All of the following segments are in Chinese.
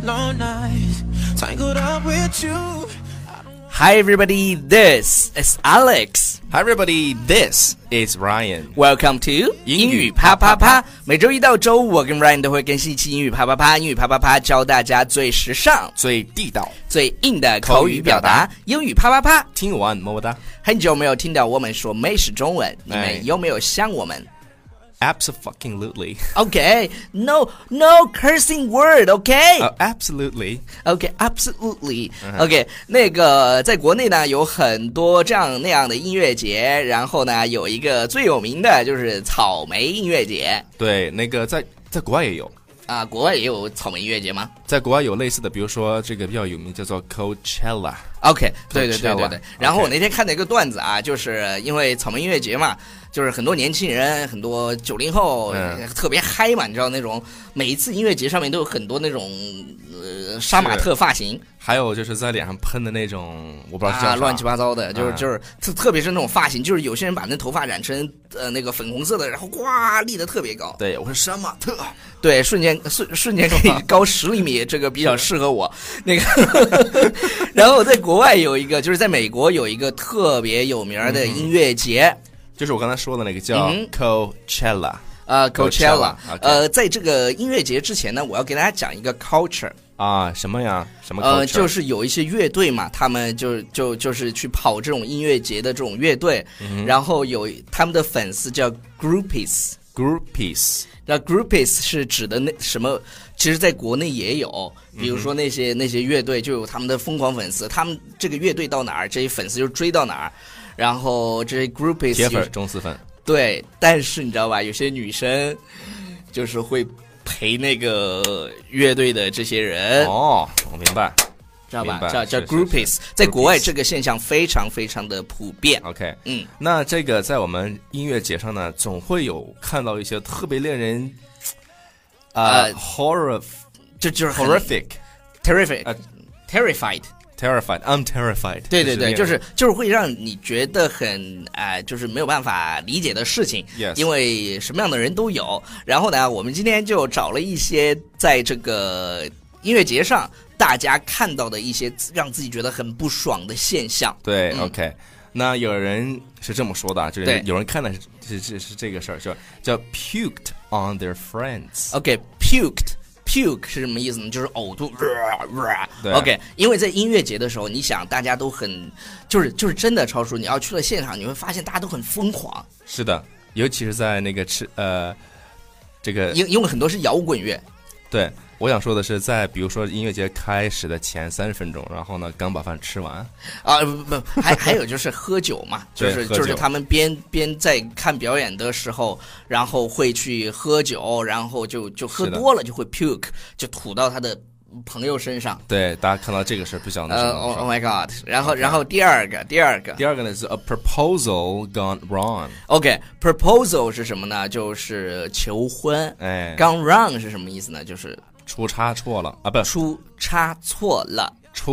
long nights tangled up with you. Hi everybody, this is Alex. Hi everybody, this is Ryan. Welcome to 英语啪啪啪。每周一到周五，我跟 Ryan 都会更新一期英语啪啪啪。英语啪啪啪教大家最时尚、 最地道、 最硬的口语表达。英语啪啪啪， 听完么么哒。 很久没有听到我们说美式中文，你们有没有想我们 ？Absolutely. Okay, no cursing word, okay? Absolutely. Okay, absolutely. Okay, 那个在国内呢有很多这样那样的音乐节，然后呢有一个最有名的就是草莓音乐节。 对，那个在国外也有。 啊，国外也有草莓音乐节吗？ 在国外有类似的，比如说这个比较有名，叫做 Coachella。OK， 对。然后我那天看到一个段子啊，就是因为草莓音乐节嘛，就是很多年轻人，很多90后，特别嗨嘛，你知道那种每一次音乐节上面都有很多那种杀马特发型。 还有就是在脸上喷的那种，我不知道是叫啥， 乱七八糟的，就是特别是那种发型，就是有些人把那头发染成那个粉红色的，然后呱立得特别高。 对，我是杀马特， 对，瞬间可以高10厘米，这个比较适合我。那个，然后在国外有一个，就是在美国有一个特别有名的音乐节， 就是我刚才说的那个叫 Coachella。 Coachella。在这个音乐节之前呢，我要给大家讲一个 culture。 啊，什么呀？什么 culture？ 就是有一些乐队嘛，他们就是去跑这种音乐节的这种乐队，然后有他们的粉丝叫 groupies。那 groupies 是指的那什么？其实在国内也有，比如说那些乐队就有他们的疯狂粉丝，他们这个乐队到哪儿，这些粉丝就追到哪儿，然后这些 groupies 铁粉、忠死粉。 对，但是你知道吧，有些女生就是会陪那个乐队的这些人。 哦，我明白， 知道吧？叫 groupies， 在国外这个现象非常非常的普遍。 OK， 那这个在我们音乐节上呢，总会有看到一些特别令人horror， 就是 horrific。terrified。I'm terrified。 对，就是会让你觉得很就是没有办法理解的事情。 Yes。 因为什么样的人都有。然后呢，我们今天就找了一些在这个音乐节上大家看到的一些让自己觉得很不爽的现象。 对，OK。那有人是这么说的，就是有人看的是这个事儿，叫 puked on their friends。 OK，puked 是什么意思呢？就是呕吐。OK， 因为在音乐节的时候，你想大家都很就是真的超叔，你要去了现场，你会发现大家都很疯狂。 是的，尤其是在那个这个因为很多是摇滚乐。 对，我想说的是，在比如说音乐节开始的前30分钟，然后呢刚把饭吃完啊，不，还有就是喝酒嘛，就是他们边在看表演的时候，然后会去喝酒，然后就喝多了就会 puke， 就吐到他的朋友身上。 对，大家看到这个事比较 Oh my god！ 然后第二个呢是 a proposal gone wrong。OK，proposal 是什么呢？就是求婚。gone wrong 是什么意思呢？就是出差错了啊，不， 出差错了。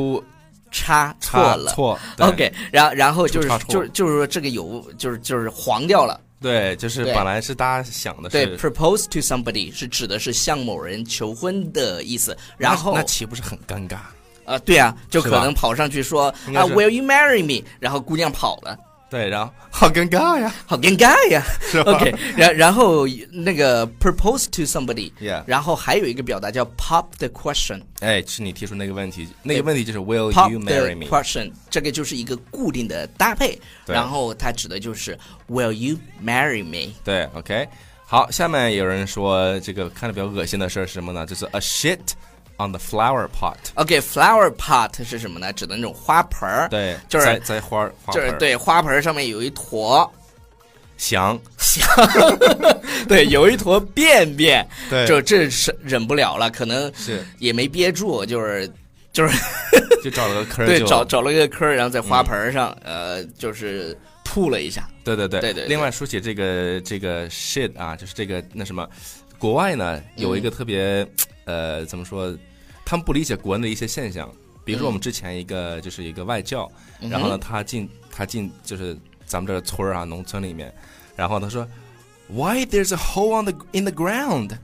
错。 OK， 然后就是说这个就是黄掉了。 对，就是本来是大家想的是对 propose to somebody 是指的是向某人求婚的意思，然后那岂不是很尴尬？ 对啊，就可能跑上去说Will you marry me？ 然后姑娘跑了。 对，然后好尴尬呀， 是吧 OK， 然后那个 propose to somebody， 然后还有一个表达叫 pop the question。 是你提出那个问题，那个问题就是 Will you marry me？ Pop the question， 这个就是一个固定的搭配，然后它指的就是 Will you marry me？ 对 ，OK， 好，下面有人说这个看着比较恶心的事是什么呢？就是 a shit on the flower pot。OK，flower pot 是什么呢？指的那种花盆儿。 对， 就是在花就是对花盆上面有一坨翔， 对，有一坨便便， 对， 这是忍不了了，可能是也没憋住，就是就找了个坑， 对，找了个坑，然后在花盆上就是吐了一下。 对。 另外说起这个 shit 啊，就是这个那什么，国外呢有一个特别怎么说，他们不理解国内的一些现象，比如说我们之前就是一个外教，然后呢他进就是咱们这个村啊农村里面，然后他说 Why there's a hole in the ground？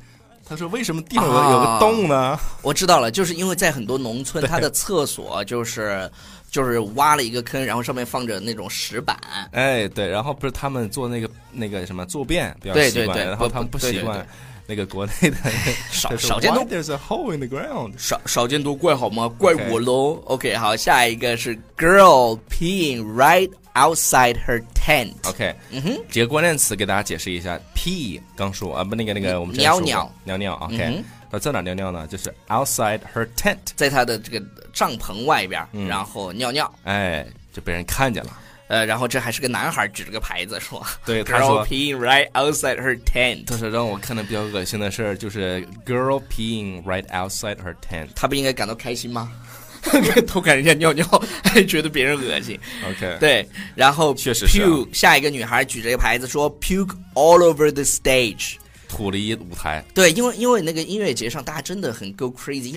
他说为什么地上有个洞呢？ 我知道了，就是因为在很多农村，它的厕所就是挖了一个坑，然后上面放着那种石板。 哎，对，然后不是他们做那个什么坐便比较习惯，然后他们不习惯。那个国内的少见多 There's a hole in the ground 少见多怪好吗？怪我喽。OK， 好，下一个是 girl peeing right outside her tent。 OK， 几个关键词给大家解释一下。pee 刚说啊，不那个我们尿。 OK，在哪尿尿呢？就是 outside her tent， 在她的这个帐篷外边，然后尿尿。 哎，就被人看见了。 然后这还是个男孩举着个牌子说， 对，他说 girl peeing right outside her tent。 但是让我看的比较恶心的事就是 girl peeing right outside her tent。 他不应该感到开心吗？偷看人家尿尿，还觉得别人恶心。 OK， 对，然后确实是、 puke， 下一个女孩举着一个牌子说 puke all over the stage。 吐了一舞台， 对，因为那个音乐节上，大家真的很 go crazy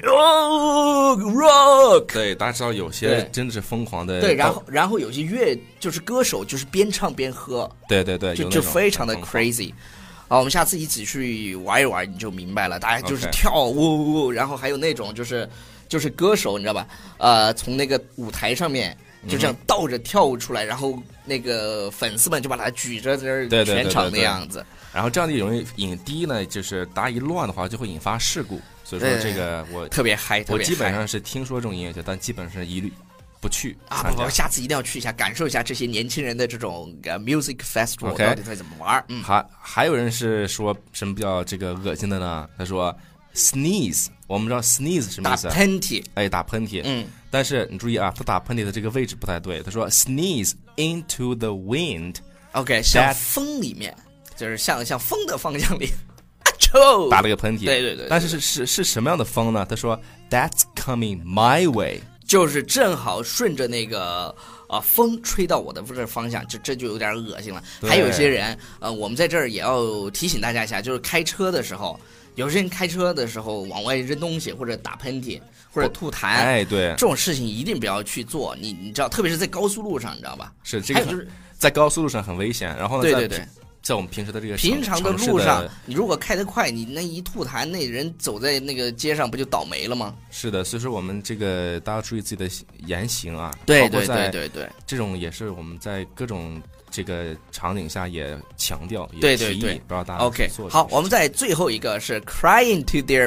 rock， 对，大家知道有些真的是疯狂的， 对，然后有些就是歌手就是边唱边喝， 对， 就非常的 crazy。好，我们下次一起去玩一玩，你就明白了，大家就是跳舞，然后还有那种就是歌手，你知道吧？从那个舞台上面就这样倒着跳舞出来，然后那个粉丝们就把它举着在这全场的样子。 然后这样的容易引第一呢，就是大家一乱的话就会引发事故，所以说这个我特别嗨， 我基本上是听说这种音乐节，但基本上一律不去啊！不，下次一定要去一下，感受一下这些年轻人的这种music festival 到底在怎么玩。 还有人是说什么比较这个恶心的呢？他说 sneeze， 我们知道 sneeze 什么意思？ 打喷嚏。 哎，打喷嚏。但是你注意啊，他打喷嚏的这个位置不太对。他说 sneeze into the wind。OK， 像风里面。就是像风的方向里， 打了个喷嚏。 对。 但是什么样的风呢？他说 That's coming my way， 就是正好顺着那个风吹到我的这个方向，这就有点恶心了。还有一些人，我们在这儿也要提醒大家一下，就是开车的时候，有些人开车的时候往外扔东西，或者打喷嚏，或者吐痰， 哎，对， 这种事情一定不要去做。你知道，特别是在高速路上，你知道吧？ 是这个，还有就是在高速路上很危险。然后呢， 对。 在我们平时的这个平常的路上，你如果开得快，你那一吐痰，那人走在那个街上不就倒霉了吗？ 是的，所以说我们这个大家注意自己的言行啊。 对， 这种也是我们在各种这个场景下也强调， 对， 不知道大家 OK。好，我们在最后一个是 crying to their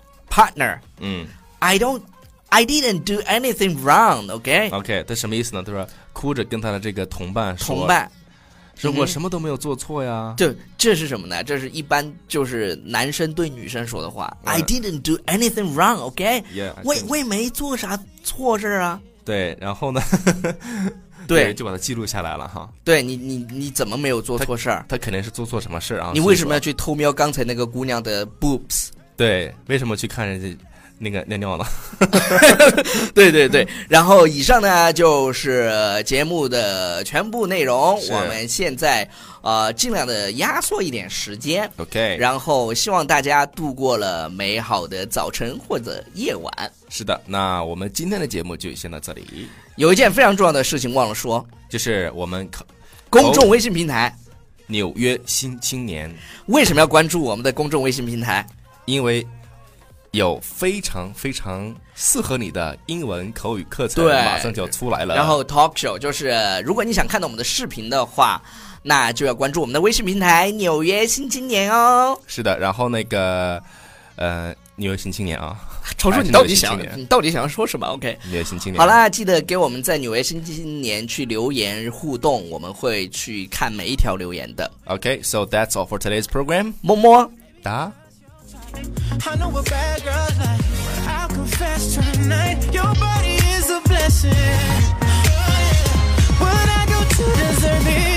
partner。I didn't do anything wrong。OK， 他什么意思呢？他说哭着跟他的这个同伴说。说我什么都没有做错呀。 这是什么呢？这是一般就是男生对女生说的话。I didn't do anything wrong，OK？ 我也没做啥错事啊。 对，然后呢？ 对， 就把它记录下来了哈。 对你怎么没有做错事儿？ 他肯定是做错什么事啊？ 你为什么要去偷瞄刚才那个姑娘的 boobs？ 对，为什么去看人家那个尿尿呢？ 对。然后以上呢就是节目的全部内容。我们现在尽量的压缩一点时间 ，OK。 然后希望大家度过了美好的早晨或者夜晚。 是的，那我们今天的节目就先到这里。 有一件非常重要的事情忘了说， 就是我们公众微信平台纽约新青年。 为什么要关注我们的公众微信平台？ 因为有非常非常适合你的英文口语课程马上就要出来了。 然后 talk show 就是如果你想看到我们的视频的话，那就要关注我们的微信平台纽约新青年哦。 是的，然后那个纽约新青年啊， 超叔你到底想要说什么 ？OK， 纽约新青年。 好啦，记得给我们在纽约新青年去留言互动，我们会去看每一条留言的。 OK，so that's all for today's program。 么么哒。 I know what bad girls like, but I'll confess tonight, your body is a blessing. What I go to deserve it?